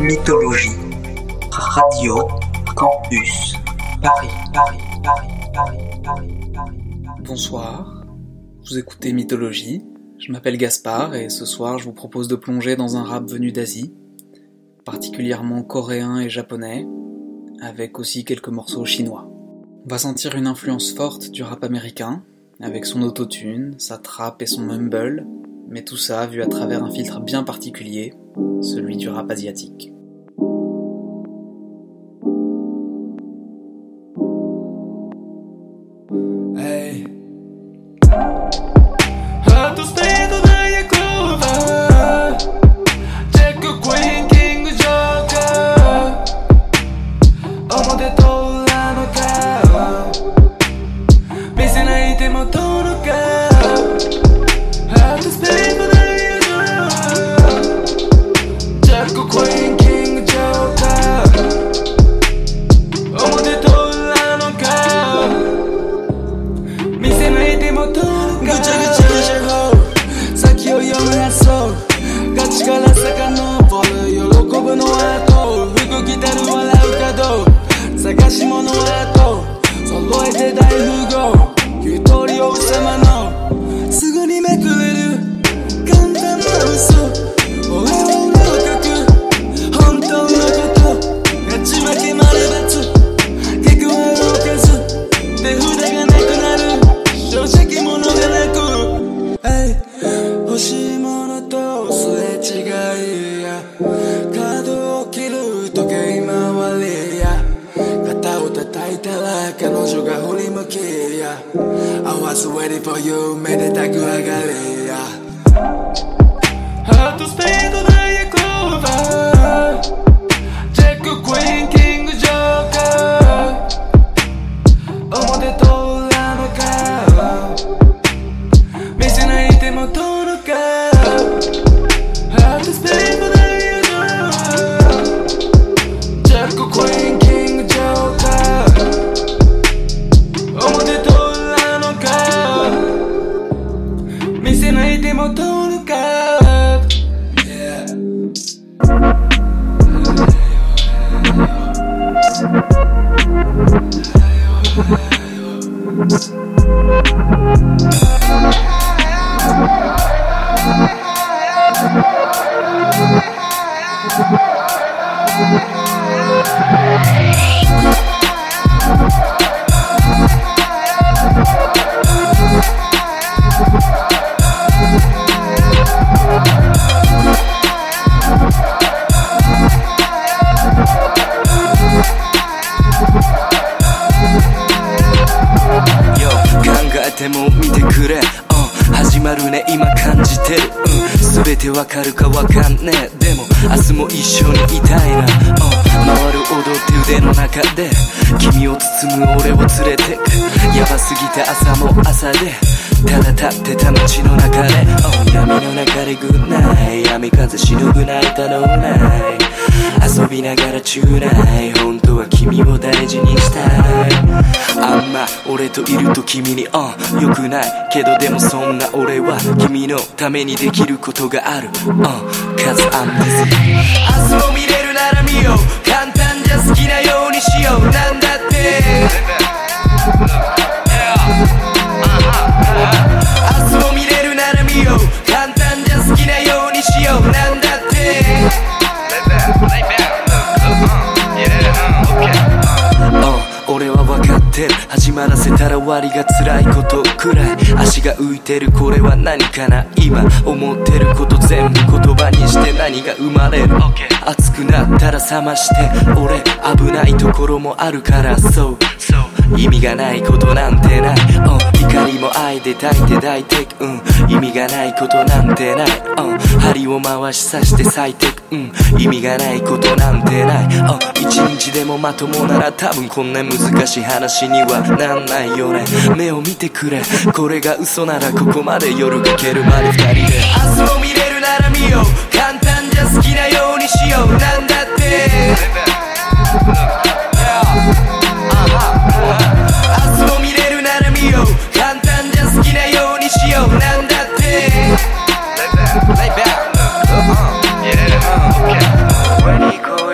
Mythologie. Radio Campus Paris. Bonsoir, vous écoutez Mythologie, je m'appelle Gaspard et ce soir je vous propose de plonger dans un rap venu d'Asie, particulièrement coréen et japonais, avec aussi quelques morceaux chinois. On va sentir une influence forte du rap américain, avec son autotune, sa trap et son mumble, mais tout ça vu à travers un filtre bien particulier, celui du rap asiatique. 君に良くないけどでもそんな俺は君のためにできることがあるCause I'm busy 明日も見れるなら見よう簡単じゃ好きなようにしようなんだって明日も見れるなら見よう簡単じゃ好きなようにしようなんだって俺は分かってる始まらせたら終わりが辛いことくらい足が浮いてるこれは何かな今思ってること全部言葉にして何が生まれる、熱くなったら冷まして俺危ないところもあるからそう意味がないことなんてない、光も愛で抱いて抱いてく、意味がないことなんてない、針を回し刺して咲いてく、意味がないことなんてない、一日でもまともなら多分こんな難しい話にはなんないよね。目を見てくれこれが嘘ならここまで夜がけるまで二人で明日も見れるなら見よう簡単じゃ好きなようにしようなんだって明日も見れるなら見よう簡単じゃ好きなようにしようなんだってLay back, yeah, okay.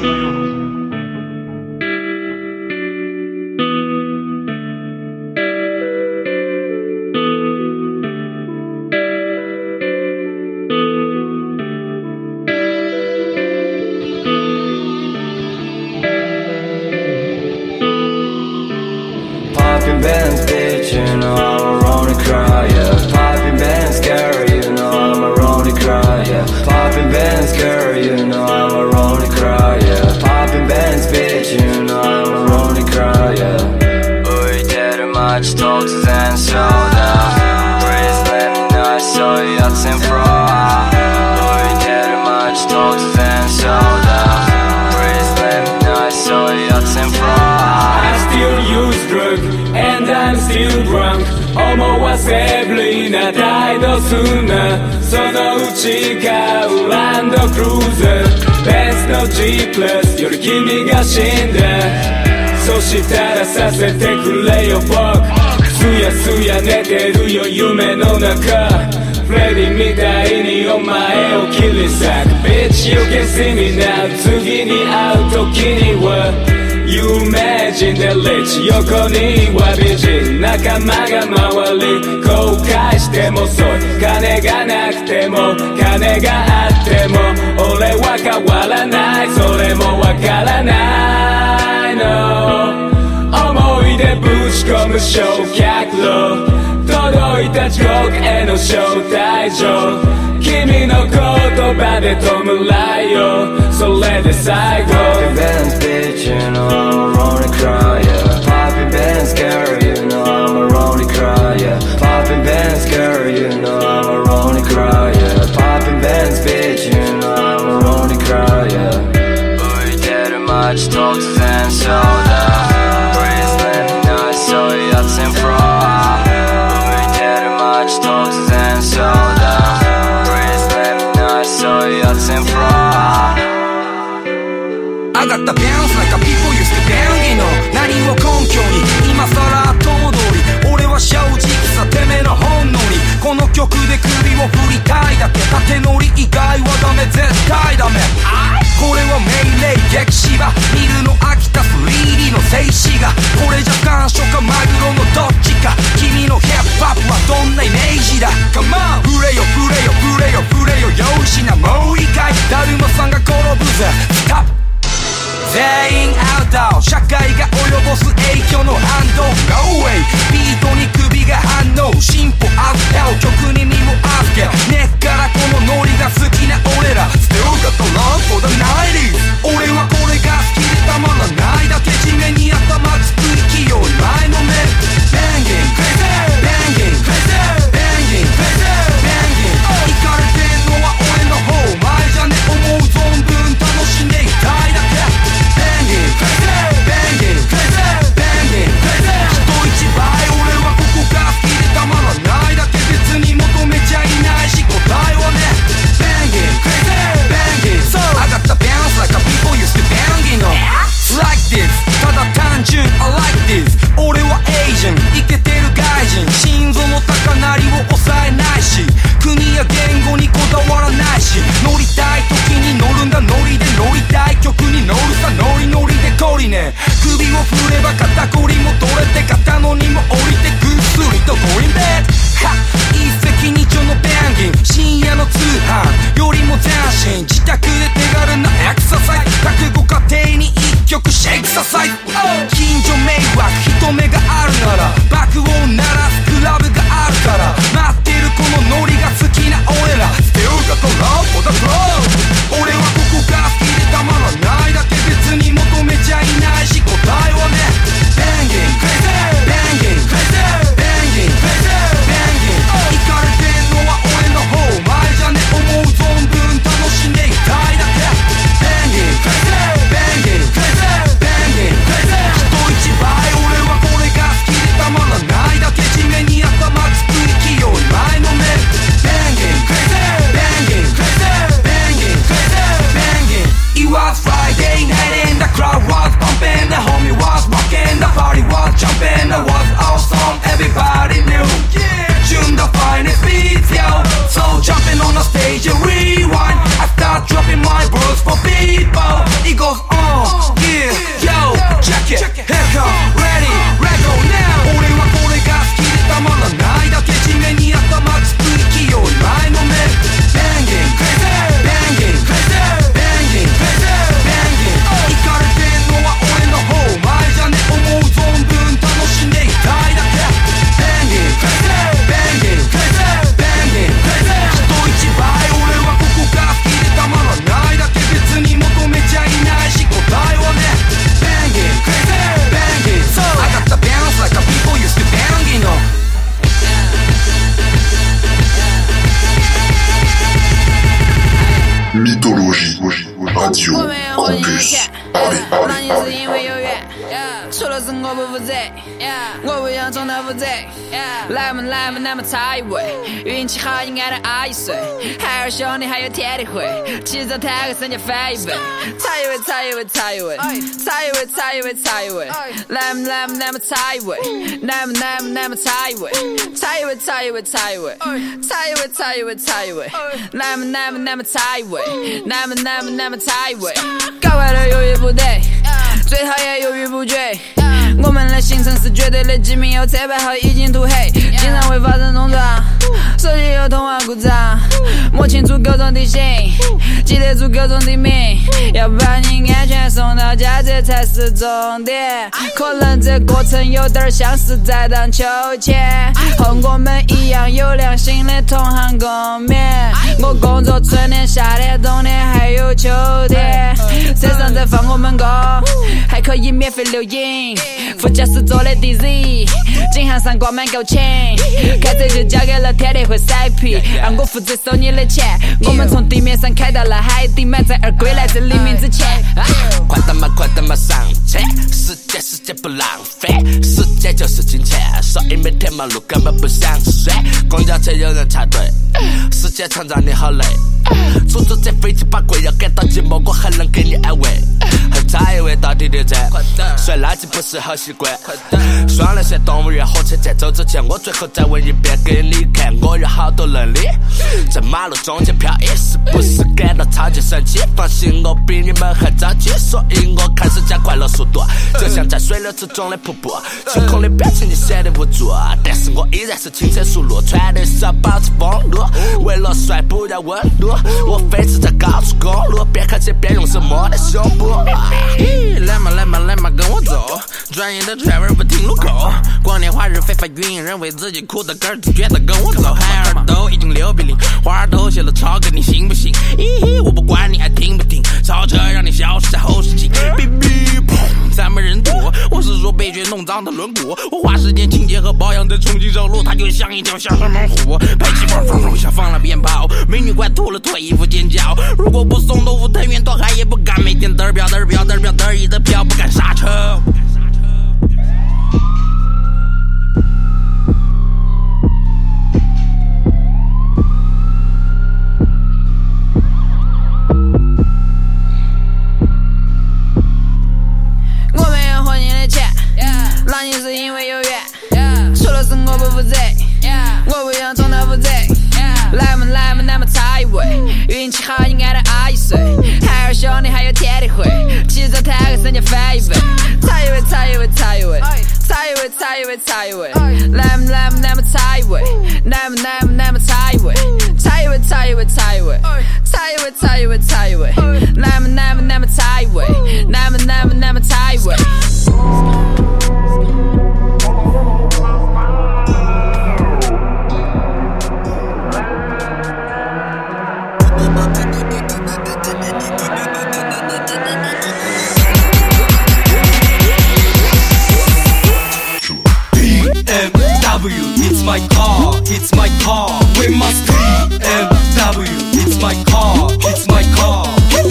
Popping bands, bitch, you know I'm a Ronnie cry, yeah. Popping bands, scary, you know I'm a Ronnie cry, yeah. Popping bands, scary, you know I'm a Ronnie cry, yeah. Popping bands, bitch, you know I'm a Ronnie cry, yeah. 浮いてる街突然ショーダウン Please let me know そういうやつ in front 浮いてる街突然ショーダウン Please let me know そういうやつ in front I still use drugs and I'm still drunk 思わせぶりな態度すんなそのうち買うランドクルーザーベンツの G プラスより君が死んだそしたらさせてくれよ僕すやすや寝てるよ夢の中フレディみたいにお前を切り裂く Bitch you can see me now 次に会う時には有名人でリッチ横には美人仲間が周り後悔しても遅い金がなくても金があっても俺は変わらないそれもわからないの思い出ぶち込む焼却炉届いた地獄への招待状君の言葉で弔いよそれで最後 Popping bands, bitch, you know I'm a Ronnie cry, yeah. Popping bands, scary, you know I'm a Ronnie cry, yeah. Popping bands, scary, you know I'm a Ronnie cry, yeah. Popping bands, bitch, you know I'm a Ronnie cry, yeah. 浮いてる街突然ショーダウン Please let me know そういうやつ in front 浮いてる街突然ショーダウン Please let me know そういうやつ in front I got the bounce like a people used to bang, you know 何を根拠に今更後戻り俺は正直さてめえの本能にこの曲で首を振りたいだけ縦乗り以外はダメ絶対ダメこれは命令激芝見るの飽きた 3D の静止画これじゃ感触かマグロのどっちか君のヒップホップはどんなイメージだ Come on 触れよ触れよ触れよ触れよよしなもう一回だるまさんが転ぶぜスタップ全員アウト社会が及ぼす影響の反動 No way ビートに首が反応進歩アップダウン曲に身を預け根っからこのノリが好きな俺ら Still got the love for the 90s 俺はこれが好きでたまらないだけ地面に頭つく勢い前のめ Banging Banging Banging Banging イカれてんのは俺の方前じゃね思う存分楽しんでいたいだけBanging, banging, banging 人一倍俺はここが好きでたまらないだけ別に求めちゃいないし答えはね Banging, banging So I got the bounce like a people used to banging on Like this ただ単純 I like this 俺は Asian イケてる外人心臓の高鳴りを抑えないし国や言語にこだわらないし乗りたい時に乗るんだノリで乗りたい曲に乗るさノリノリでコリね首を振れば肩こりも取れて肩の荷も降りてぐっすりとゴリンベッドは一石二鳥のバンギン深夜の通販よりも斬新自宅で手軽なエクササイズ覚悟家庭に一曲シェイクササイズ近所迷惑人目があるなら爆音鳴らすクラブがあるから待ってるこのノリが好きな俺ら Still got the love for the flow 俺はここが好きでたまらないだけ別に求めちゃいないし答えはね Banging Banging Banging Banging イカれてんのは俺の方前じゃね思う存分楽しんでいたいだけ Banging Banging Banging 人一倍俺はこれが好きでたまらないだけ地面に頭つく勢い前のめ Banging Banging Banging Banging It was Friday night and the crowd was pumping The homie was rocking, the party was jumping It was awesome, everybody knew June the finest beats, yo So jumping on the stage and rewind I start dropping my words for people It goes on 我没有花你的钱，那你是因为有缘。除了是我不负责，我不想重蹈覆辙。来嘛来嘛，那么差一位，运气好应该能熬一岁。海尔兄弟还有天地会，骑着坦克身价翻一倍。差一位，差一位，差一位，差一位，差一位，差一位。来嘛来嘛，那么差一位，来嘛来嘛，那么差一位，差一位，差一位，差一位，差一位，差一位，差一位。来嘛来嘛，那么差一位，来嘛来嘛，那么差一位。搞坏了犹豫不得，最讨厌犹豫不决。我们的行程是绝对的机密，有车牌号已经涂黑，经常会发生冲撞，手机有通话故障，摸清楚各种地形，记得住各种地名，要把你安全送到家，这才是重点。可能这过程有点像是在荡秋千，和我们一样有良心的同行共勉。我工作春天、夏天、冬天还有秋天，车上再放我们歌，还可以免费留影。副驾驶座的 DZ， 颈项上挂满勾钱，开车就交给了天地会甩皮，让我负责收你的钱。我们从地面上开到了海底，满载而归来自黎明之前。 快点嘛上车，时间不浪费，时间就是金钱，所以每天忙碌根本不想睡。公交车有人插队，时间长让你好累，出租车飞机把贵要赶到寂寞，我还能给你安慰。还差一位到地铁站，甩垃圾不是好习惯。双人线动物园火车站走之前，我最后再问一遍给你看，我有好多能力，在马路中间飘逸，是不是感到超级神奇？放心，我比你们还着急，所以我开始加快了速度，就像在水流之中的瀑布。惊恐的表情你显得无助，但是我依然是轻车熟路，穿的是要保持风度，为了帅不要温度，我飞驰在高速公路，边开车边用手摸的胸部。 来嘛来嘛来嘛跟我走，专业的 driver 不停路口，光天化日非法运，人为自己哭的根儿就觉得跟我走。海尔都已经6比0，花都谢了超哥你信不信？我不管你爱听不听，超车让你消失在后视镜。哔哔砰，咱们人多，我是说被血弄脏的轮毂，我花时间清洁和保养再重新上路，它就像一条小山猛虎，排气管风下放了鞭炮，美女快吐了脱衣服尖叫，如果不送豆腐藤原拓海也不敢每天嘚儿飙嘚儿飙嘚儿飙嘚儿一的飘，不敢刹车。 我没有花你的钱，那你是因为有缘。除了是我不负责，我不想重蹈覆辙。来嘛来嘛，那么差一位，运气好应该能熬一岁。海尔兄弟还有天地会，骑着坦克身价翻一倍。差一位，差一位，差一位，差一位，差一位，差一位。来嘛来嘛，那么差一位，来嘛来嘛，那么差一位，差一位，差一位，差一位，差一位，差一位，差一位。来嘛来嘛，那么差一位，来嘛来嘛，那么差一位。 It's my car, it's my car. We must BMW. It's my car, it's my car.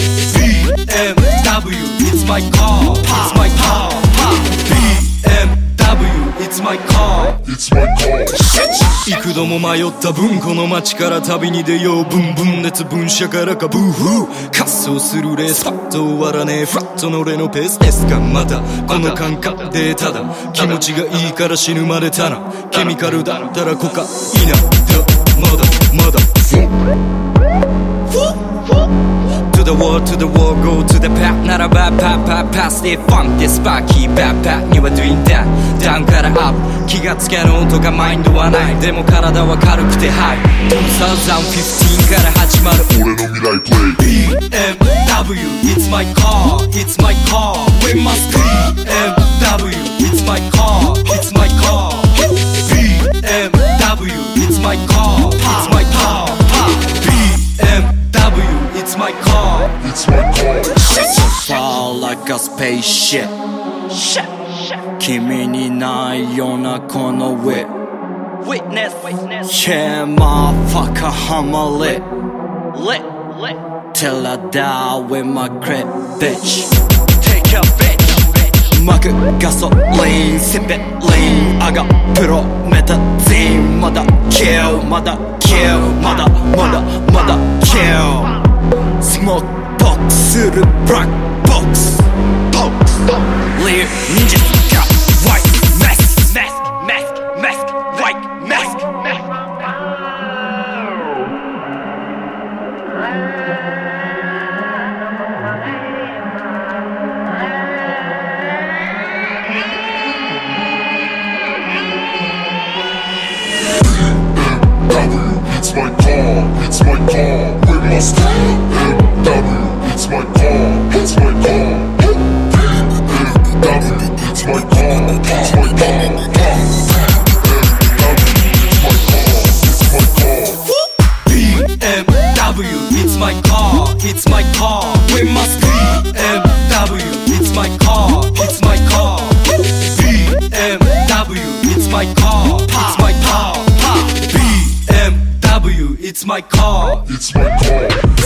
BMW. It's my car, it's my car. BMW. It's my car, it's my car. 幾度も迷った分この街から旅に出ようブンブン熱分車からかブーフー滑走するレースパッと終わらねえフラットの俺のペースですがまたこの感覚でただ気持ちがいいから死ぬまでたなケミカルだったらコカイナだまだまだTo the wall, to the wall, go to the path ならばパッパッパスでファンでスパーキーバッパッには doing that ダウンからアップ気がつける音がマインドはないでも体は軽くてハイ2015から始まる俺の未来プレイ BMW It's my car, it's my car We must BMW It's my car, it's my car BMW It's my car, it's my car BMW It's my car, it's my car Far like a spaceship 君にないようなこの Witness Yeah, motherfucker, I'm a lit Till I die with my crap bitch. Take a bitch. 巻くガソリンセペリンアガプロメタゼンまだキルまだキルまだキルスモークボックスするブラックボックスリア忍者がワイマスクワイマスク It's my car, with my style. It's my car, it's my car. It's my car, it's my car. BMW, it's my car, it's my car. We must BMW, it's my car, it's my car. BMW, it's my car, it's my car. BMW, it's my car, it's my car.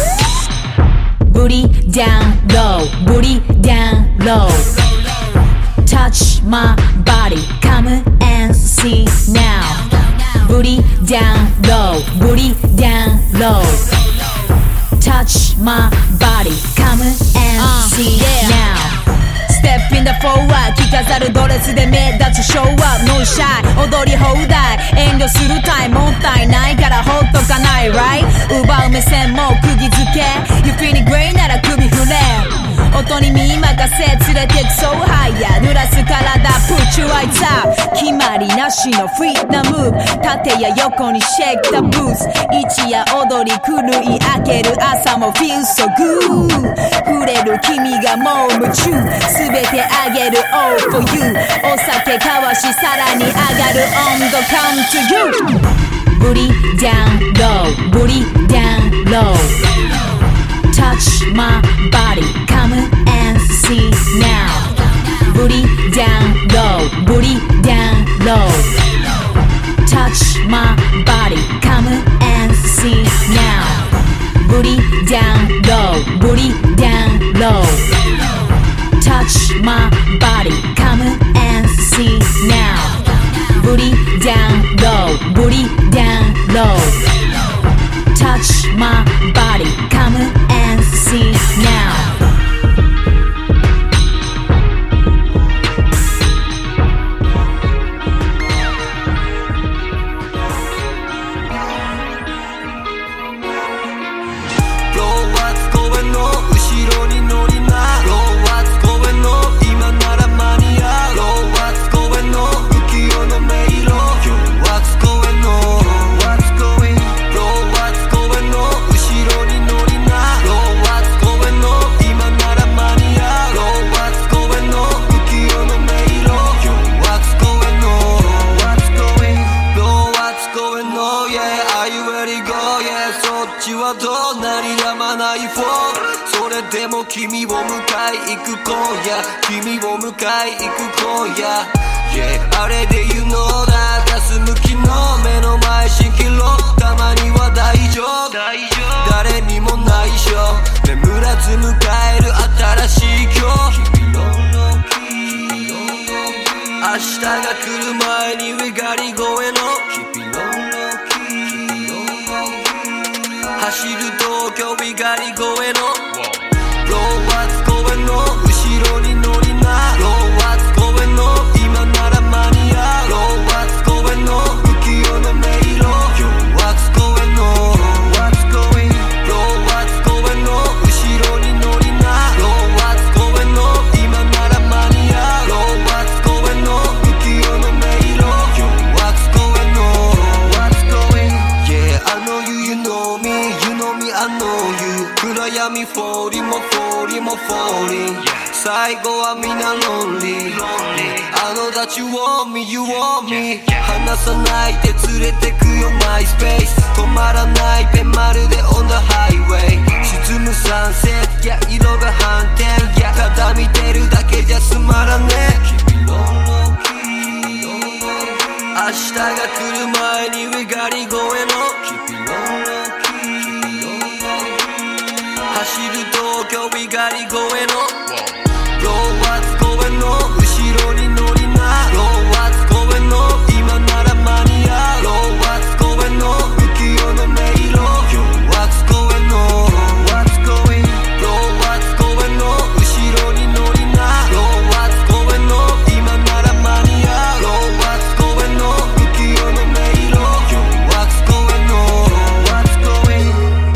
Booty down low, booty down low. Touch my body, come and see now. Booty down low, booty down low. Touch my body, come and see now.Step in the forward 着飾るドレスで目立つ Show up No shy 踊り放題遠慮するタイムもったいないからほっとかない Right 奪う目線も釘付け You feeling great なら首振れ音に身任せ連れてく So higher 濡らす体 Put your lights up 決まりなしのフィットなムーブ縦や横に Shake the boots 一夜踊り狂い明ける朝も Feel so good 触れる君がもう夢中全てあげる All for you お酒交わしさらに上がる温度 Come to you Booty down low Booty down low Touch my body Come and see now Booty down low Booty down low Touch my body Come and see now Booty down low Booty down low Touch my body, come and see now. Booty down low, booty down low. Touch my body, come and see now. Yeah あれで言うのだガス向きの目の前蜃気楼たまには大丈夫誰にも内緒眠らず迎える新しい今日明日が来る前にウィガリ声の走る東京ウィガリ声のローワッツ公園の後ろに乗りなローワッツ公園の今なら間に合うローワッツ公園の浮世の迷路ローワッツ公園のワッツ公園ローワッツ公園の後ろに乗りなローワッツ公園の今なら間に合うローワッツ公園の浮世の迷路ローワッツ公園のワッツ公園 Yeah I know you, you know me You know me, I know you 暗闇フォーリもフォーリもフォーリン最後はみんなロンリー I know that you want me, you want me 離さないで連れてくよマイスペース止まらないペンまるで on the highway 沈むサンセットや色が反転やただ見てるだけじゃつまらねえ明日が来る前にウィガリ声の走 Bro what's going on 後ろに乗りな Bro what's going on 今なら間に合う Bro what's going on 浮世の迷路 Yo what's going on What's going Bro what's going on 後ろに乗りな Bro what's going on 今なら間に合う Bro what's going on 浮世の迷路 Yo what's going on What's going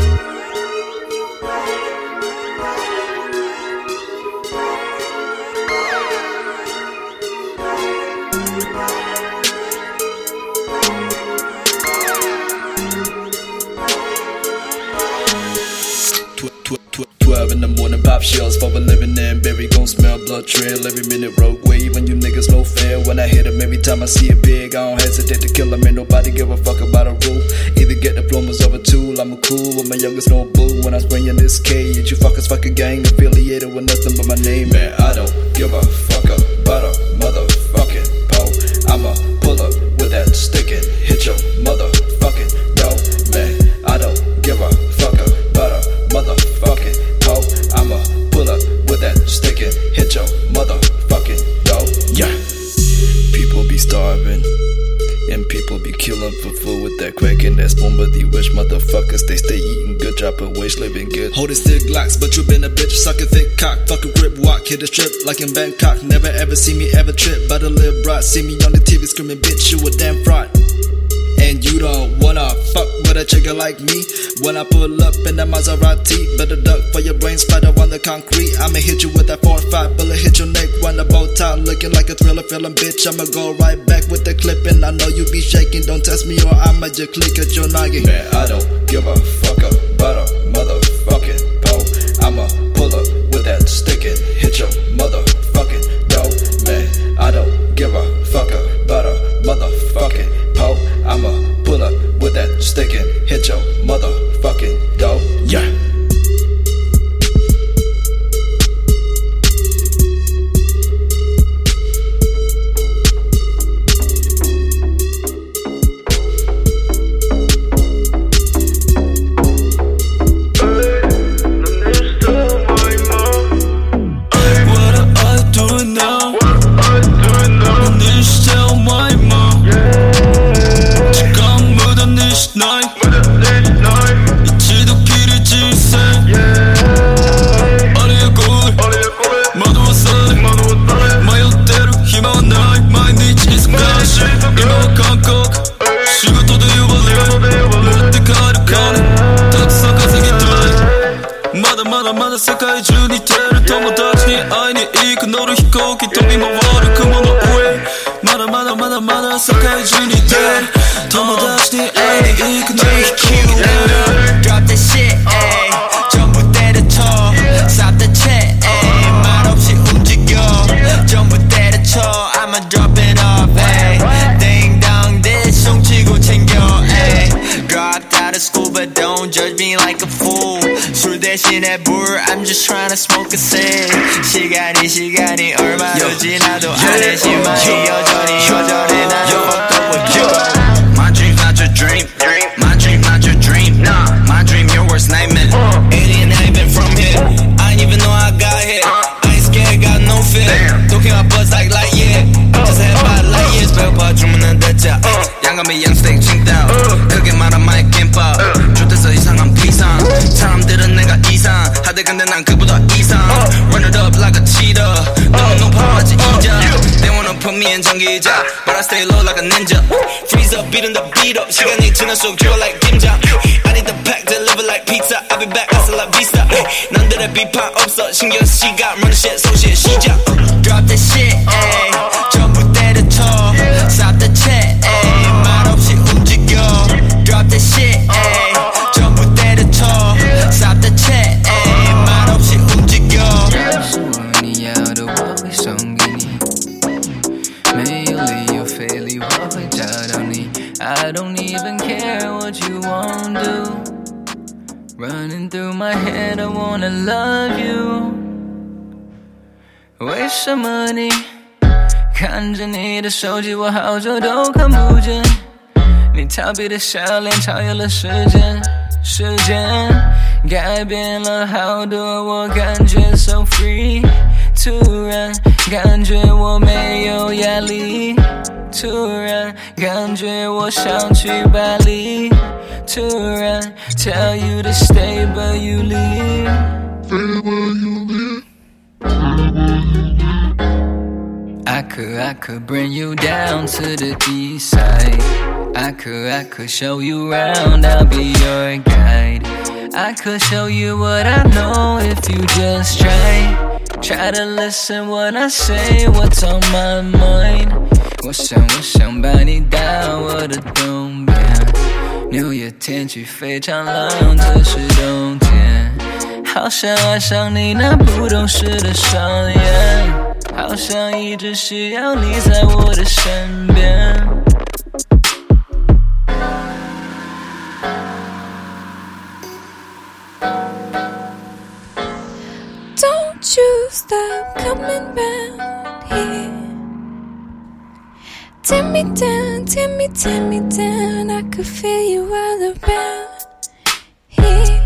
in the morning, pop shells for a living and berry gon' smell blood trail every minute rogue wave and you niggas no fair when I hit 'em every time I see it big I don't hesitate to kill 'em ain't nobody give a fuck about a rule either get diplomas or a tool I'm a cool with my youngest no boo when I'm spraying this K you fuckers fucking gang affiliated with nothing but my name man I don't give a fuck about a motherfucking pole I'ma pull up with that stick and hit your motherfucking door man I don't give a fuck about a motherfucking pole I'ma pull up with that stick and hit your motherfucking door yeah people be starving and people be killing for food with that crack and that spoon but these rich motherfuckers they stay eating good dropping waste living good holding stick glocks but you been a bitch sucking thick cock fucking grip walk hit a strip like in Bangkok never ever see me ever trip by the lip broad see me on the TV screaming bitch you a damn fraud and you don't wanna fuck with a chicken like me when I pull up in that Maserati better duck for your brain splatter on the concrete I'ma hit you with that 4-5 bullet hit your neck run the bow tie looking like a thriller feeling bitch I'ma go right back with the clip and I know you be shaking don't test me or I'ma just click at your noggin man I don't give a fuck about a motherfucking pole I'ma pull up with that stick and hit your motherfucking door man I don't give a fuck about a motherfucking pole I'ma pull up with that stick and hit your motherfucking door yeah まだ世界中に出る友達に会いに行く乗る飛行機飛び回る雲の上まだ世界中に出る友達に会いに行く乗る飛行機 Drop that shit ayy 전부 때려쳐 Stop the chat ayy 말없이 움직여 전부 때려쳐 I'ma drop it off ayy 띵당 대충 치고 챙겨 ayy Dropped out of school but don't judge me like a fool 술 대신에 물 I'm just tryna smoke a cig 시간이 얼마로 지나도 안해지만이 여전히 나도 fucked up with you My dream's not your dream My dream not your dream Nah, my dream your worst nightmare Alien haven from here I ain't even know I got here I ain't scared, got no fear Talking my buzz like light year Just head by light years 배고파 주문은 됐자 양감이 양스테이크 칭따오 크게 말한 마의 김밥 좋대서 이상한 비상 사람들은 내가 이상 하대 근데 난 그보다 이상 Run it up like a cheetah 너무 높아하지 이자 They wanna put me in 전기자 But I stay low like a ninja Freeze up beating the beat up 시간이 지날수록 drill like 김장 I need the pack deliver like pizza I'll be back hustle like vista 남들의 비판 없어 신경 시간 run the shit so shit 시작 Drop that shit ayy 전부 때려쳐 Stop the chat ayy 말없이 움직여 Drop that shit ayy 전부 때려쳐 Stop the chat ayy 말없이 움직여 소원이야 어두워이 성기니 매일이 you feel you walk 잘하니 I don't even care what you wanna do Running through my head I wanna love you 为什么你看着你的手机我好久都看不见你逃避的笑脸超越了时间时间改变了好多，我感觉 so free。突然感觉我没有压力，突然感觉我想去巴黎，突然 tell you to stay but you leave. I could bring you down to the east side. I could show you around, I'll be your guide. I could show you what I know if you just try to listen what I say, what's on my mind. 我想把你带我的东边，纽约天气非常冷，这是冬天。好想爱上你那不懂事的双眼，好想一直需要你在我的身边。 Don't you stop coming round here. Take me down, take me down. I could feel you all around here.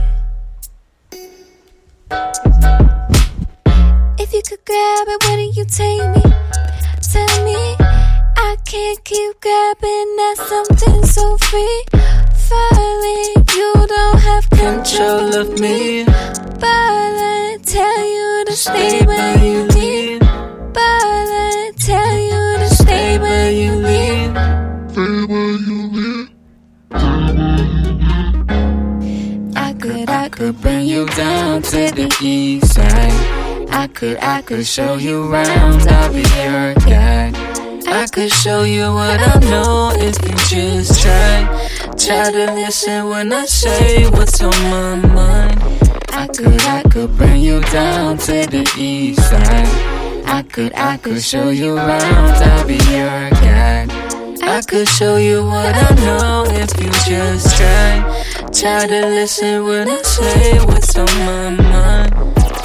If you could grab it, where do you take me? Tell me, I can't keep grabbing at something so free. Falling, you don't have control of me. But I tell you to stay where you leave. But I tell you to stay where you leave. Stay where you leave. I could bring you down to the east side. I could show you around, I'll be your guide. I could show you what I know if you just try to listen when I say what's on my mind. I could bring you down to the east side. I could show you around, I'll be your guide. I could show you what I know if you just try to listen when I say what's on my mind.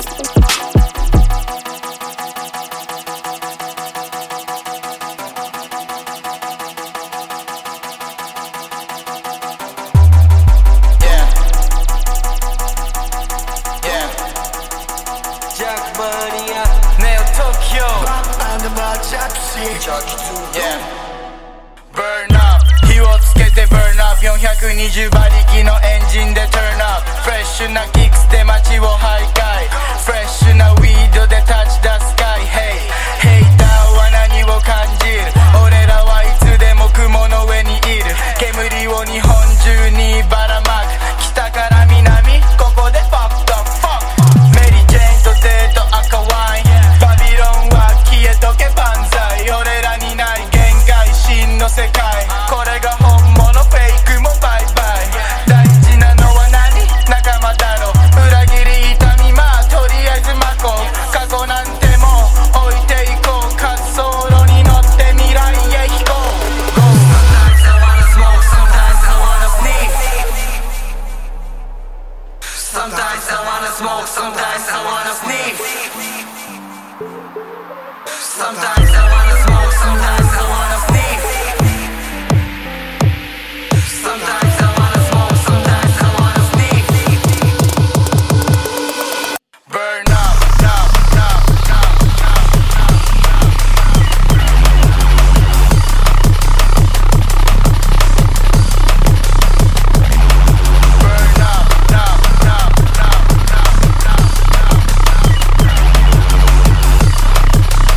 Yeah. Burn up 火をつけて burn up 420馬力のエンジンで turn up フレッシュなキックスで街を徘徊フレッシュなウィードで touch the sky Hey ヘイターは何を感じる俺らはいつでも雲の上にいる煙を日本中にばらまく北から南ここで fuck the fuck メリー・ジェーンとデート赤ワインバビロンは消えとけ万歳俺らにない限界真の世界これが本物フェイクもバイバイ大事なのは何仲間だろ裏切り痛みまあとりあえずまこう過去なんてもう置いていこう滑走路に乗って未来へ飛行 Sometimes I wanna smoke sometimes I wanna sneeze Sometimes I wanna smoke sometimes I wanna sneeze Sometimes I wanna smoke sometimes I wanna sneeze Sometimes I wanna smoke sometimes I wanna sneeze Burn up, up, up, up, Burn up, up, up, up, up, up, up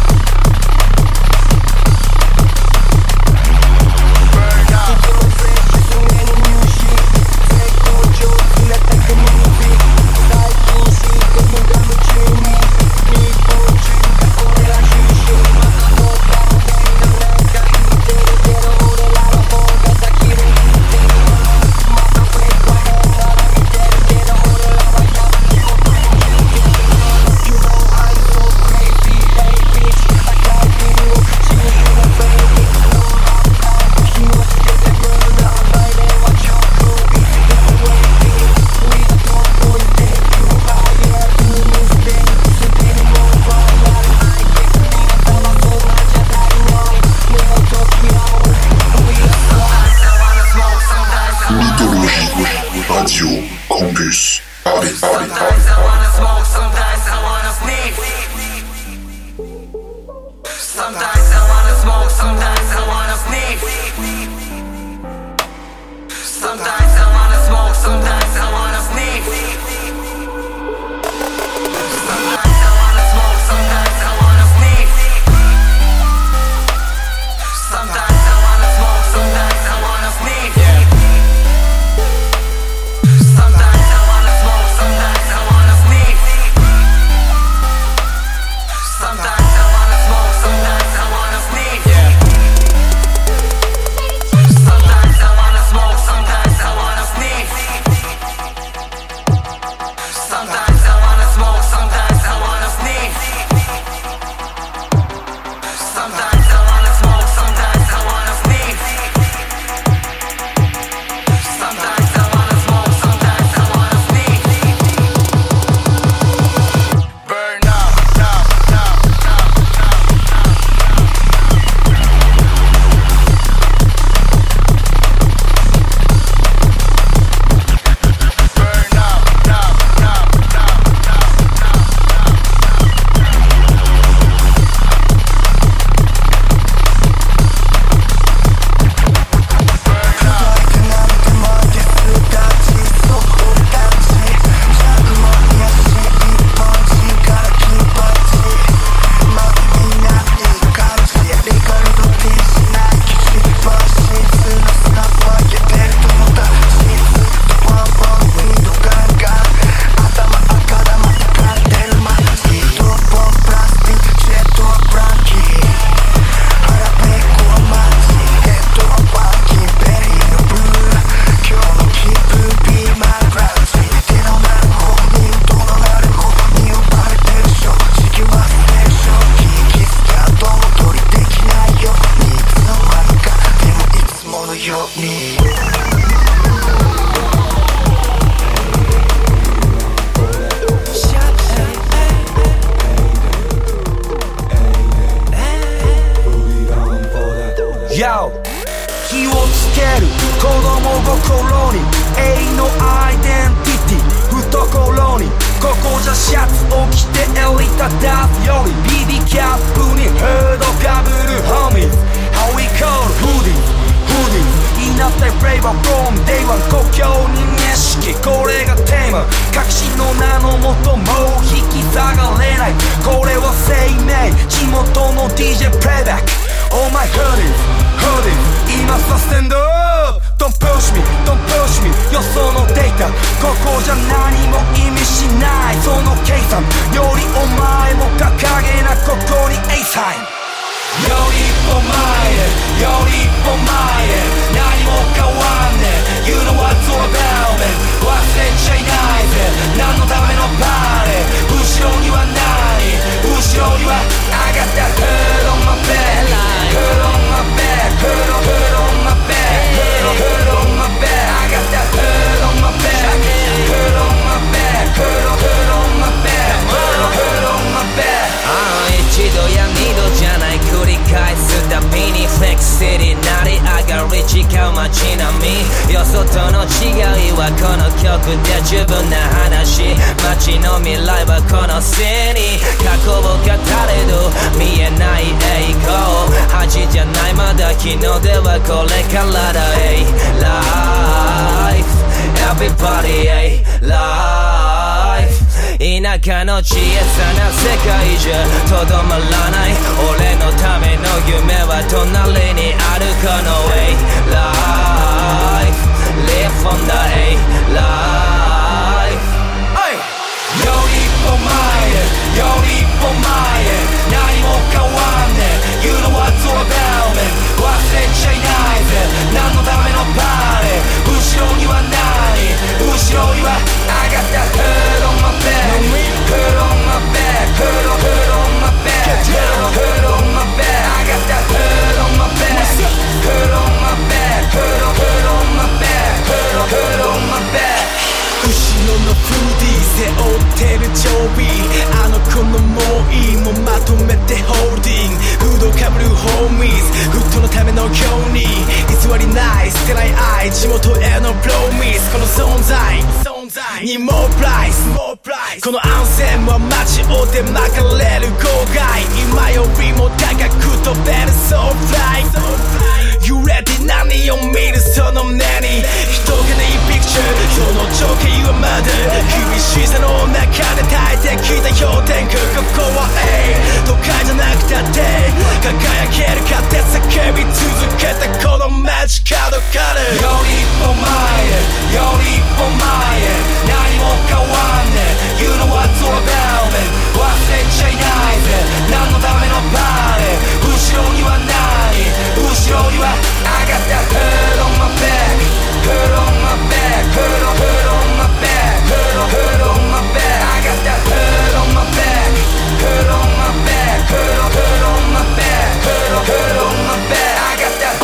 Sometimes I wanna smoke, sometimes I wanna sniff. Sometimes I wanna smoke, sometimes I wanna sniff. Sometimes I wanna smoke, sometimes I wanna sniff. Sometimes I wanna smoke, sometimes I wanna sniff. Sometimes I wanna smoke, sometimes I wanna sniff. Sometimes I wanna smoke, sometimes I wanna sniff. Sometimes I wanna smoke, sometimes I wanna sniff. Sometimes I wanna smoke, sometimes I wanna sniff. Sometimes I wanna smoke, sometimes I wanna sniff. Sometimes I wanna smoke, sometimes I wanna sniff. Sometimes I wanna smoke, sometimes I wanna sniff. Burn up, up, up, up, burn up, up, Yo 気をつける子供心に永遠のアイデンティティ懐にここじゃシャツを着て襟立たすより BB キャップにフードかぶるホーミーズ How we call hoodies いなったフレーバー from day one 故郷に認識これがテーマ確信の名のもともう引き下がれないこれは生命地元の DJ プレイバック Oh my hoodies 今さスタンドアップ Don't push me よそのデータここじゃ何も意味しないその計算よりお前も掲げなここに A サインより一歩前へ何も変わんねえ You know what's all about me 忘れちゃいないぜ何のためのパーレー後ろには何後ろには I got that hood on my back Hood on my back Hood on my back Hood on my back I got that hood on my back Hood on my back Hood on my back Hood on my back 一度や二度じゃない繰り返すたびにフレクシティなり上がり違う街並みよそとの違いはこの曲で十分な話街の未来はこの背に過去を語れど見えない栄光恥じゃないまだ昨日ではこれからだ Hey life everybody hey life田舎の小さな世界じゃとどまらない俺のための夢は隣にあるこの A life live on the A life より一歩前へ何も変わんねえ You know what's all about me 忘れちゃいないぜ何のためのパーレー後ろには何後ろには I got that hood on my back Hood on my back Hood on my back Hood on my back I got that hood on my back Hood on my back Hood on my back Hood on my back 後ろのフーディー背負ってる常備あの子のもういいもまとめてホールディングフードかぶるホーミーズフットのための今日に偽りない捨てない愛地元へのプロミスこの存在にもプライスこの暗線は街を出まかれる郊外今よりも高く飛べる So fly 揺れて何を見るその目に人がないピクチャーその情景はまだ厳しさの中で耐えてきた氷点下ここは都会じゃなくたって輝けるかって叫び続けたこの街角からより一歩前へより一歩前へ何も変わんね You know what's all about it 忘れちゃいないぜ何のためのパーティー後ろには何後ろには I got that hurt on my back hurt on my back hurt on my back hurt on my back I got that hurt on my back hurt on my back hurt on my back hurt on my back I got that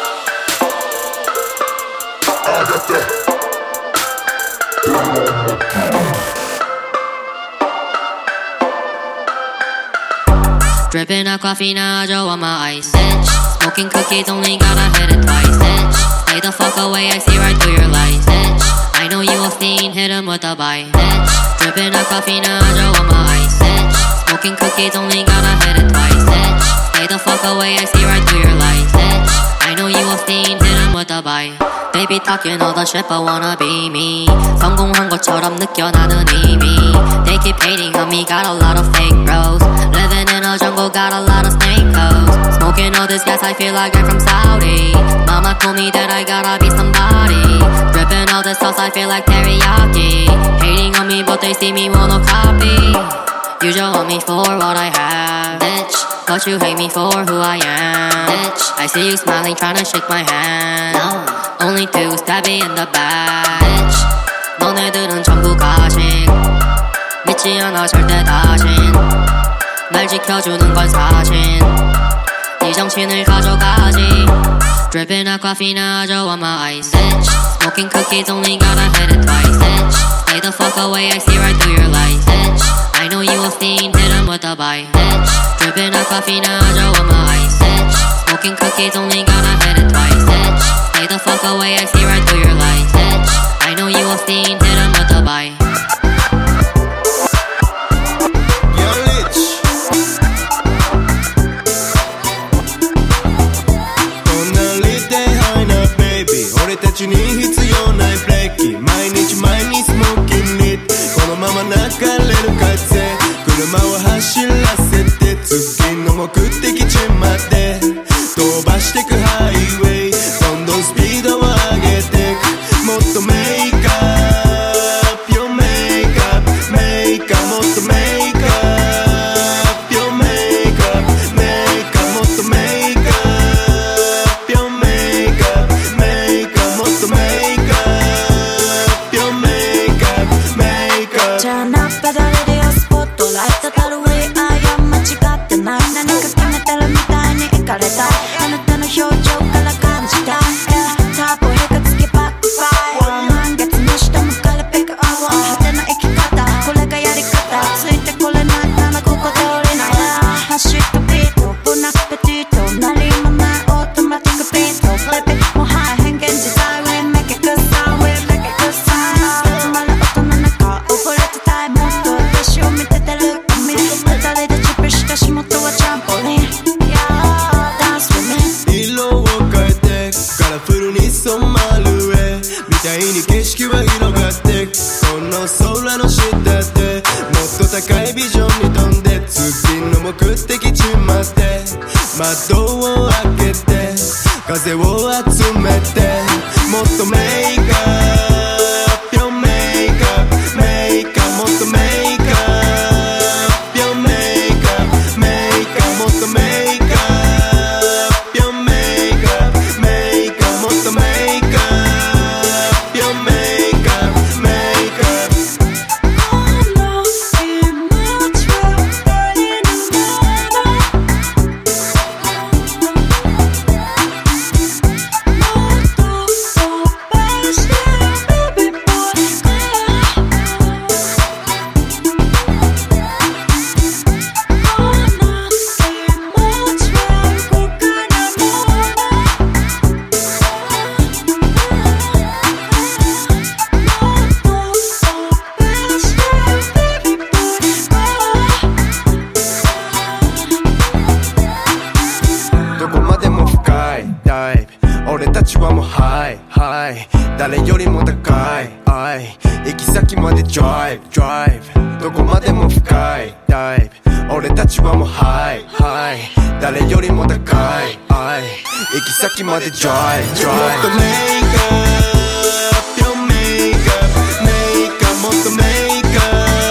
Dripping Aquafina, Joe on my ice itch. Smoking cookies, only gotta hit it twice itch. Stay the fuck away, I see right through your lies itch. I know you a fiend, hit him with a bite itch. Dripping Aquafina, Joe on my ice itch. Smoking cookies, only gotta hit it twice itch. Stay the fuck away, I see right through your lies itch. I know you a fiend, hit him with a bite. Baby talking all the shit but wanna be me. 성공한 것처럼 느껴 나는 이미. They keep hating on me, got a lot of fake bros. Living in a jungle, got a lot of snake hoes. Smoking all this gas, I feel like I'm from Saudi. Mama told me that I gotta be somebody. Dripping all this sauce, I feel like teriyaki. Hating on me, but they see me wanna copy. You just want me for what I have, bitch. But you hate me for who I am, bitch. I see you smiling, tryna shake my hand. No. Only two stabby in the back, bitch. 너네들은 전부 가식. 믿지 않아 절대 다신. 날 지켜주는 건 사신. 네 정신을 가져가지. Dripping Aquafina, Joe on my ice itch. Smoking cookies, only gotta hit it twice itch. Stay the fuck away, I see right through your lies itch. I know you a fiend, hit him with a bite itch. Dripping Aquafina, Joe on my ice itch. Smoking cookies, only gotta hit it twice itch. Stay the fuck away, I see right through your lies itch. I know you a fiend, hit him with a bite. ちはもうハイハイ誰よりも高い行き先までドライブどこまでも深いダイブ俺たちはもうハイハイ誰よりも高い行き先までドライブもっとメイクアップ Your makeup メイクアップもっとメイクアップ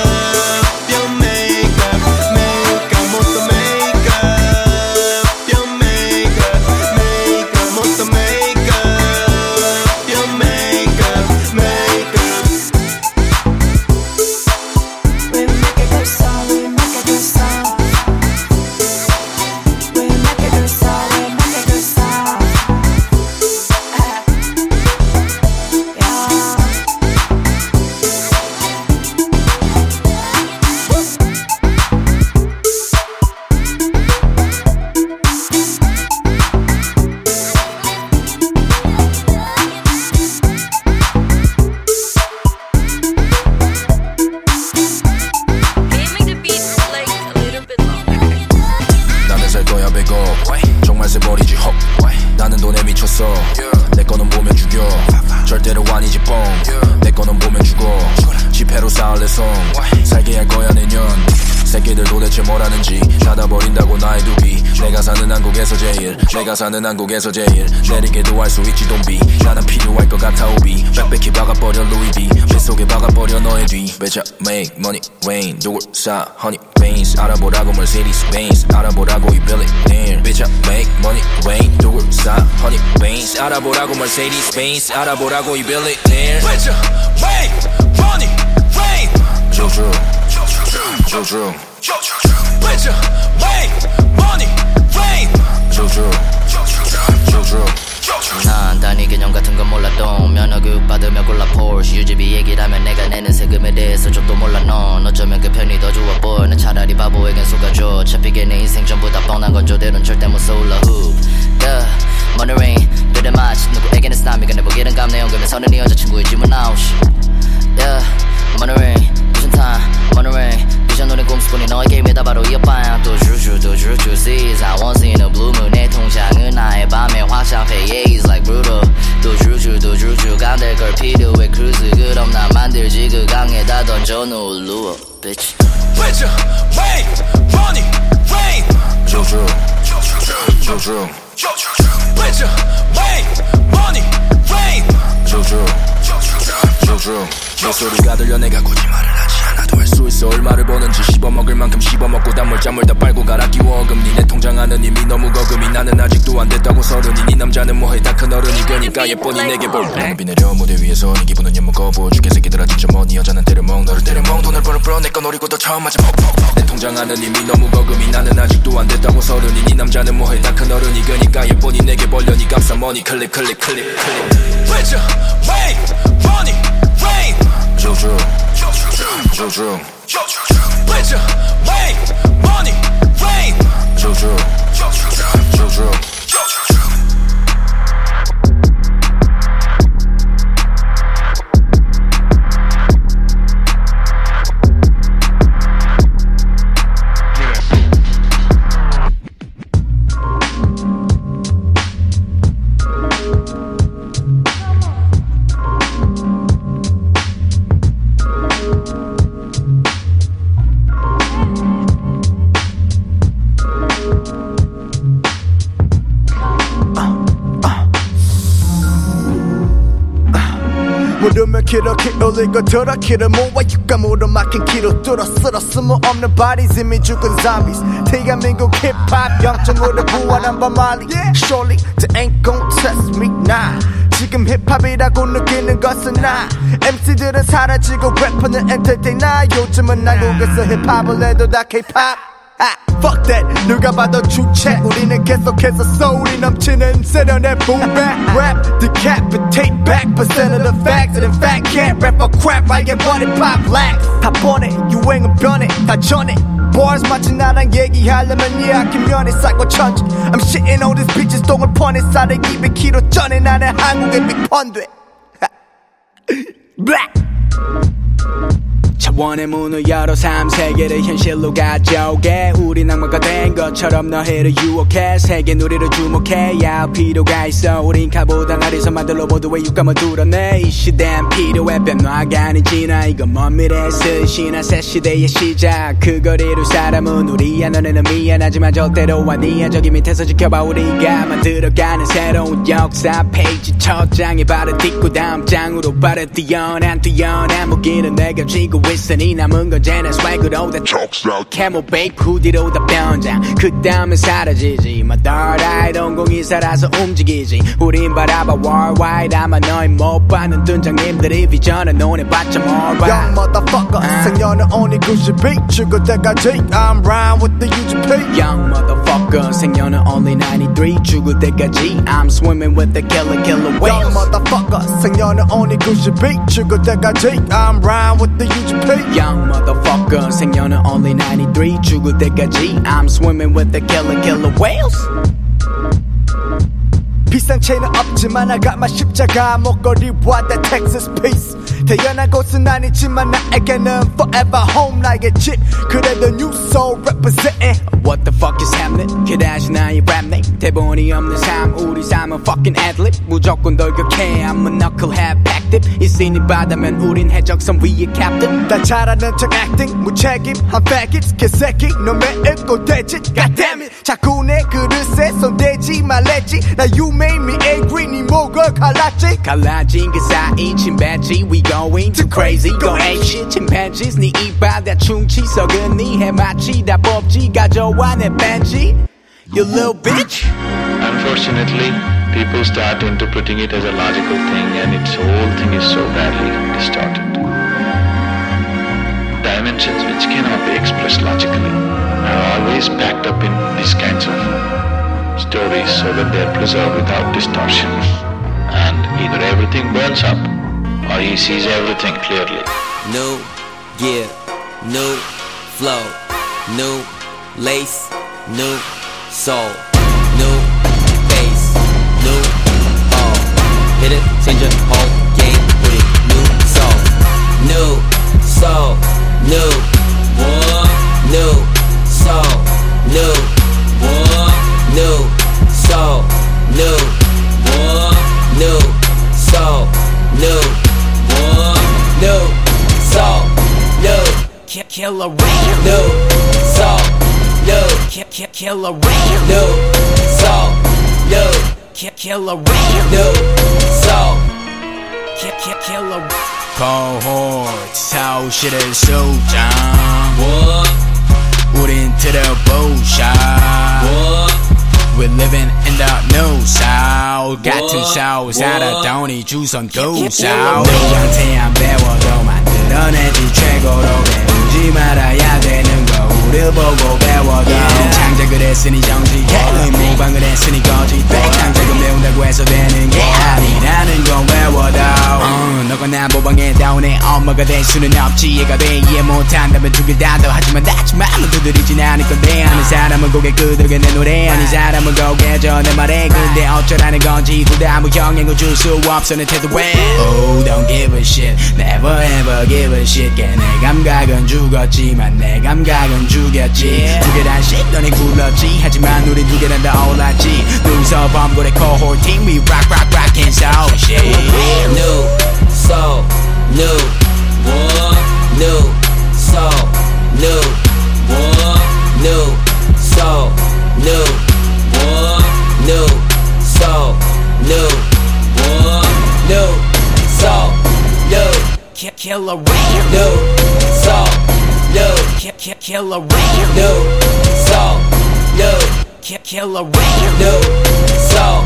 내 거는 보면 죽여 절대로 아니지 뻥 내 거는 보면 죽어 지폐로 쌓을 내 성 살게 할 거야 내년 새끼들 도대체 뭐라는지 닫아버린다고 나의 두기 내가 사는 한국에서 제일 내리게도 할 수 있지 don't be 나는 필요할 것 같아 오비 빽빽히 박아버려 루이 V 뱃속에 박아버려 너의 뒤 Bitch I make money rain 누굴 사 honey veins 알아보라고 Mercedes Benz 알아보라고 이 billionaire Bitch I make money rain 누굴 사 honey veins 알아보라고 Mercedes Benz 알아보라고 이 billionaire Bitch I make money rain 조조 Bitch I make money rain 조조 난 단위 개념 같은 건 몰라도 면허교육 받으며 골라 Porsche 유지비 얘기를 하면 내가 내는 세금에 대해서 좀도 몰라 넌 어쩌면 그 편이 더 좋아 보여 난 차라리 바보에겐 속아줘 차피게 내 인생 전부 다 뻔한 건 저대로는 절대 못 쏠라 hoop yeah money rain 그대 마치 누구에게는 스나미가 내 보기는 감내 연금에 서는 네 여자친구의 질문 아웃 yeah money rain vision time money rain 비전 노린 꿈수꾼이 너에게 임에다 바로 이어봐야 또 주주 sees I won't see no blue moon 내 통장은 나의 밤의 화장패 yeah it's like brutal 또 주주 감될 걸 필요해 cruise 그럼 나 만들지 그 강에다 던져 놓을 루어 bitch Bitch make money rain 주주 Bitch make money rain 주주 내 소리가 들려 내가 굳이 말을 하지 않아도 할 수 있어 얼마를 버는지 씹어먹을 만큼 씹어먹고 단물잠을 다 빨고 갈아 끼워 어금니 내 통장 안은 이미 너무 거금이 나는 아직도 안 됐다고 서른이 네 남자는 뭐해 다 큰 어른이 그니까 예쁜이 내게 볼 나는 비 내려 무대 위에서 네 기분은 엿먹어 죽게 새끼들아 진짜 뭐네 여자는 때려먹 너를 때려먹 돈을 벌어 내 거 노리고 또 처음 맞아 퍽퍽 내 통장 안은 이미 너무 거금이 나는 아직도 안 됐다고 서른이 네 남자는 뭐해 다 큰 어른이 그니까 예쁜이 내게 벌려 네 값싼 머니 클릭 Bitch make money rain 조조 Bitch make money rain 조조 물으면 그렇게 올리고 들어 길을 모아 육감으로 막힌 길을 뚫어 쓸어 쓸모없는 bodies 이미 죽은 zombies 대한민국 힙합 0.5를 부활한 바말리 Surely they ain't gon' test me nah 지금 힙합이라고 느끼는 것은 나 MC들은 사라지고 래퍼는 entertain 나 요즘은 한국에서 힙합을 해도 다 K-pop Fuck that 누가 봐도 주체 우리는 계속해서 소울이 넘치는 세련의 boomback Rap decapitate back percent of the facts And in fact can't rap or crap like everybody pop lax 다 뻔해 유행은 변해 다 전해 Bars 마치 나랑 얘기하려면 예약한 면이 쌓고 천지 I'm shitting all these bitches 똥을 퍼내 쌀에 200kg 전에 나는 한국의 빅펀드 Black 차원의 문을 열어 3세계를 현실로 가져오게 우린 악마가 된 것처럼 너희를 유혹해 세계 누리를 주목해 야 필요가 있어 우린 칼보다 날에서 만들어 모두의 육감을 뚫어내 이 시대엔 필요해 변화가 아닌 진화 이건 먼 미래의 스시나 새 시대의 시작 그걸 이룰 사람은 우리야 너네는 미안하지만 절대로 아니야 저기 밑에서 지켜봐 우리가 만들어가는 새로운 역사 페이지 첫 장에 발을 딛고 다음 장으로 발을 뛰어난 무기는 내가 쥐고 있으니 남은 건 쟤네 swag으로 다 캐모베이크 후디로 다 변장 그 다음에 사라지지 My third eye 동공이 살아서 움직이지 우린 바라봐 worldwide 아마 너희 못 받는 등장님들이 비전을 논해 봤자 alright Young motherfucker 생년은 only 92 죽을 때까지 I'm round with the UGP Young motherfucker 생년은 only 93 죽을 때까지 I'm swimming with the killer whales Young motherfucker 생년은 only 92 죽을 때까지 I'm round with the UGP Young motherfucker 생년은 only 93 죽을 때까지 I'm swimming with the killer whales 비싼 체는 없지만 I got my 십자가 목걸이와 the Texas piece 태어난 곳은 아니지만 나에게는 forever home like a 집 그래도 new soul representing What the fuck is happening 그다지 나의 rap name 대본이 없는 삶 우리 삶은 fucking ad-lib 무조건 돌격해 I'm a knucklehead packed it 있으니 바다면 우린 해적선 위의 captain 난 잘하는 척 acting 무책임한 faggots 개새끼 놈의 꼬대짓 God damn it 자꾸 내 그릇에 손대지 말랬지 나 you made me angry 네 목을 갈라진 그 사이 침팬지 We going too crazy go ape shit chimpanzees 네 이빨 다 충치 썩은 네 해마치 다 뽑지 가져와 내 벤치 You little bitch Unfortunately people start interpreting it as a logical thing and its whole thing is so badly distorted dimensions which cannot be expressed logically are always packed up in these kinds of stories so that they are preserved without distortion and either everything burns up or he sees everything clearly. New gear, new flow, new lace, new soul, new bass, new all. Hit it, change your whole game with it. New soul, new soul, new one, new soul, new one, new soul, new one, new soul, new one, new soul, new killer whale new soul, new killer whale new soul, new killer whale new soul killer cohort 서울시를 수장 우린 들어보자 We're living in the new South 같은 South 살았더니 주선 두 South 너한테 안 배워도 만들어내지 최고로 배우지 말아야 되는 거 우릴 보고 배워도 창작을 했으니 정직해 모방을 했으니 거짓돼 창작을 배운다고 해서 되는 게 아니라는 건 외워도 너가 나 모방했다고 내 엄마가 될 수는 없지 얘가 돼 이해 못한다면 두 개 다 더 하지만 닥치마 아무 두드리진 않을 건데 아는 사람은 고개 끄덕여 내 노래 아닌 사람은 고개져 내 말에 근데 어쩌라는 건지 둘 다 아무 영향을 줄 수 없어 내 태도에 Oh don't give a shit never ever give a shit 걔 내 감각은 죽었지만 내 감각은 죽였지 두 개란 shit 너네 굴렀지 하지만 우린 두 개란 다 올랐지 눈서 범고래 cohort team we rock and soul shit New soul new one new soul new one new soul new one new soul new one new soul new killer whale new soul new killer whale new soul new killer whale new soul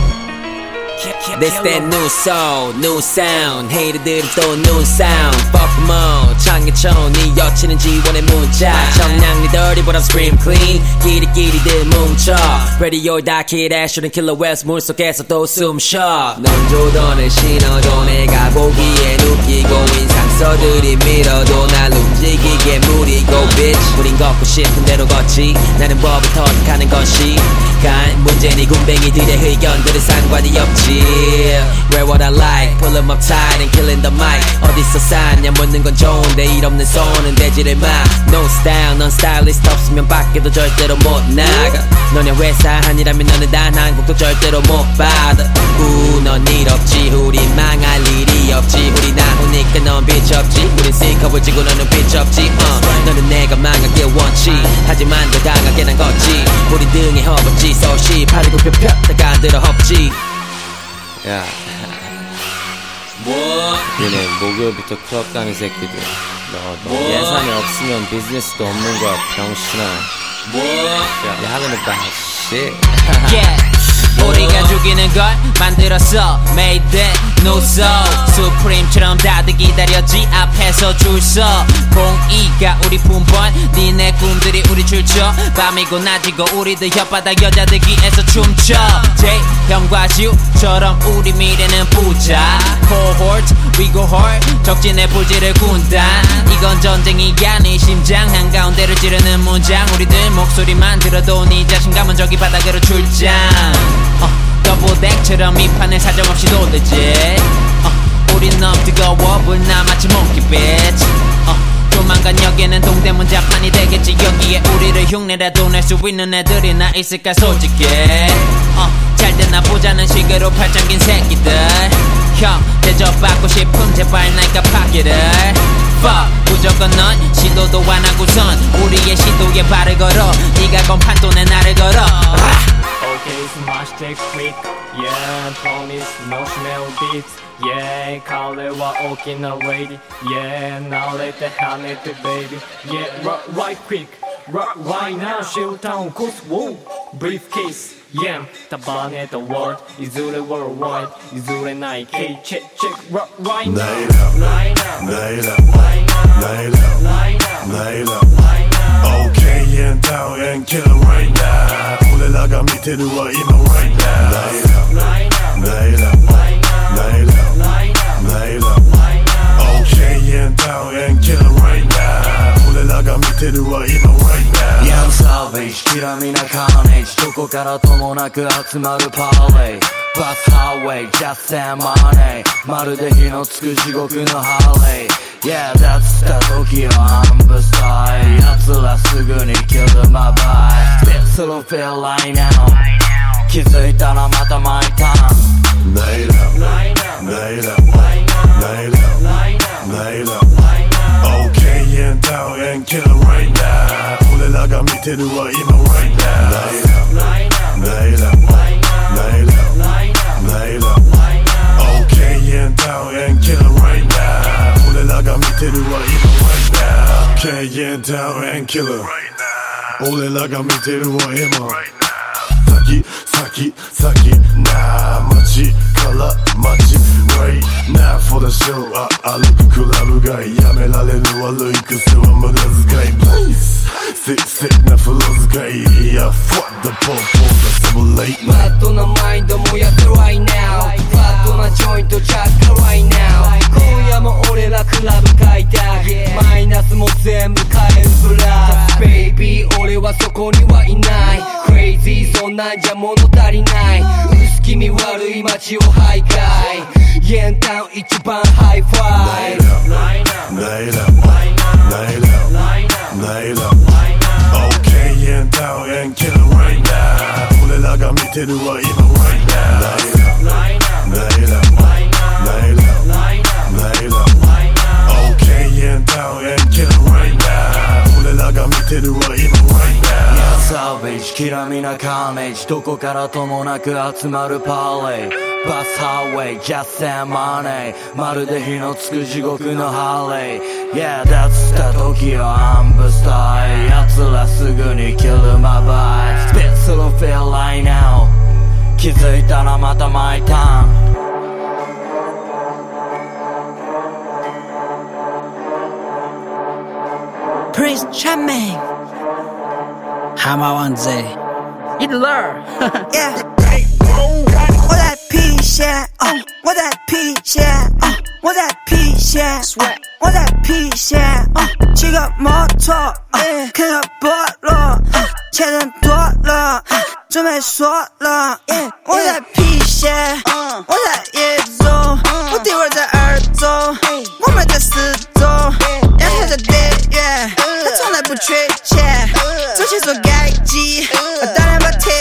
This that new soul, new sound 헤이트들은 또 new sound Fuck them all 창의촌 네 여친은 지원의 문자 청량리들이 보다 scream clean 끼리끼리들 뭉쳐 Radio 다키 애쉬는 킬러 웨스 물속에서 또 숨쉬어 넌 조던을 신어도 내가 보기엔 웃기고 인상서들이 밀어도 날 움직이게 무리고 bitch 우린 걷고 싶은 대로 걷지 나는 법을 터득하는 것이 간 문제는 이 군뱅이들의 의견들은 상관이 없지 Wear what I like, pull them up tight and killing the mic 어디서 샀냐 묻는 건 좋은데 일 없는 손은 대지를 마 No style, 넌 스타일리스트 없으면 밖에도 절대로 못 나가 너네 회사 아니라면 너는 단 한 곡도 절대로 못 받아 넌 일 없지 우리 망할 일이 없지 우리 나오니까 넌 빛 없지 우린 C컵을 지고 너는 빛 없지 너는 내가 망하길 원치 하지만 더 강하게 난 걷지 우리 등에 허벅지 서시 팔을 굽혀 폈다가 들어 헙지 야 뭐? 얘네 목요일부터 클럽 가는 새끼들 너 예산이 없으면 비즈니스도 없는 거야 병신아 뭐? You're having a bad shit yeah. 우리가 죽이는 걸 만들었어 Made that no soul 수프림처럼 다들 기다렸지 앞에서 줄서 공이가 우리 품번 니네 꿈들이 우리 줄쳐 밤이고 낮이고 우리들 혓바닥 여자들 귀에서 춤춰 제형과 지우처럼 우리 미래는 부자 Cohort we go hard 적진의 불지를 군단 이건 전쟁이야 네 심장 한가운데를 찌르는 문장 우리들 목소리만 들어도 네 자신감은 저기 바닥으로 출장 더블덱처럼 이 판을 사정없이 돌리지 우린 너무 뜨거워 불나 마치 몽키빛 조만간 여기는 동대문 자판이 되겠지 여기에 우리를 흉내라도 낼 수 있는 애들이나 있을까 솔직히 잘되나 보자는 식으로 팔짱 낀 새끼들 형 대접받고 싶음 제발 날 깜빡이를 Fuck 무조건 넌 시도도 안 하고선 우리의 시도에 발을 걸어 네가 건 판돈에 나를 걸어 Okay, smash that quick. Yeah, promise no smell beats. Yeah, color와 오키나 lady. Yeah, now let the hand it baby. Yeah, right quick. Right now, shoot down, cause whoa, briefcase. Yeah, 답안에 the world. 이술의 worldwide. 이술의 Nike. Check. Right now. Line up. Okay, and down and kill it right now. 올라가 밑으로 와 이만 right now. Nail up. Okay, and down and kill it right now. 올라가 밑으로 와 이만 right now. Young Savage, 기람이나 carnage. どこからともなく集まるパーレイ。Bus highway, just and money. まるで火のつく地獄のハーレイ。Yeah, that's た時はアンブスタイ奴らすぐに kill my vibe Spit through feel right now 気づいたらまたmy time Nail up Okay, and down and kill it right now 俺らが見てるわ今 right now Nail up Okay, and down and kill it right now俺らが見てるわ今 right now Okay, and down and kill it俺らが見てるわ今先な街から街 Right now for the show 歩くクラブ街やめられる悪い癖は無駄遣い Please sick な風呂使い Yeah, fuck the pop that's so late フラットなマインドもやって right now フラットなジョイントチャッカ right now 今夜も俺らクラブ開拓マイナスも全部変えるプラス Baby 俺はそこにはいない Crazy そんなんじゃ物足りない薄気味悪い街を徘徊イエンタウン一番ハイファイ Nail up Okay, and down and kill it right now 俺らが見てるわ今 right now Nail up Okay, and down and kill it right now 俺らが見てるわ今 right now Yeah, Savage きらみなカーネージどこからともなく集まるパーレイバスハーウェイ Just and money まるで火のつく地獄のハーレイ Yeah, that's た時はアンブスタイ奴らすぐに kill my vibe Spit through feel right now 気づいたらまた my time Prince Charming 하마완제 Hitler Yeah What that piece, yeah What that piece, yeah What that piece, yeah What that piece, yeah 지금 모터 그냥 벌어 쟤는 돌아 좀 해소라 What that piece, yeah What that 예조 어디 월자 알죠 몸에 다 쓰죠 양해자 대 yeah 다 전에 부채 yeah 조시 속 갈지 다른 바태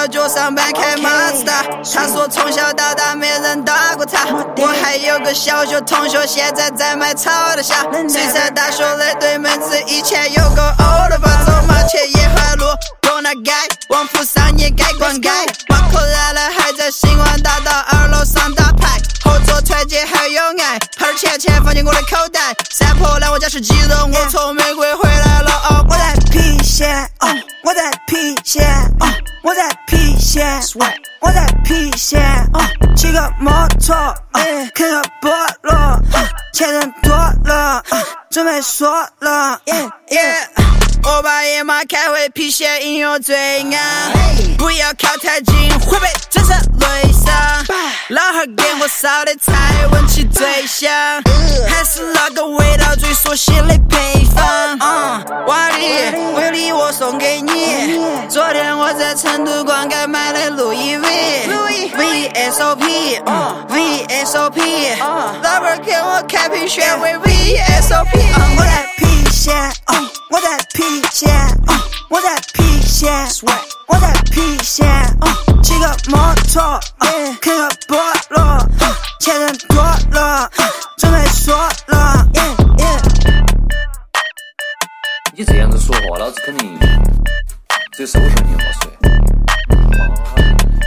就上班开马自达。他说从小到大没人打过他。我还有个小学同学，现在在卖草的虾。水产大学的对门子以前有个欧的吧，走马前沿海路，东南街，王府上沿街逛街。马口来了还在星光大道2楼上打牌，后座团结还有爱，牌钱放进我的口袋。山坡来我家吃鸡肉，我从美国回来了哦。我在郫县，我在郫县，我在郫县，我在郫县，骑个摩托，看个菠萝，钱人多了，准备说了，我把野马开回郫县，应有罪案，不要靠太近，会被整成雷伤。老汉给我烧的菜，闻起最香，还是那个味道最熟悉的配方。瓦力，为礼我送给你。昨天我在成都逛街买的路易 VSOP， VSOP， 老板给我开瓶选为 VSOP。我在郫县，我在郫县，我在郫县，我在郫县，骑个摩托，看个菠萝，钱人多了，准备说了。 你这样子说话，老子肯定只有收拾你话说。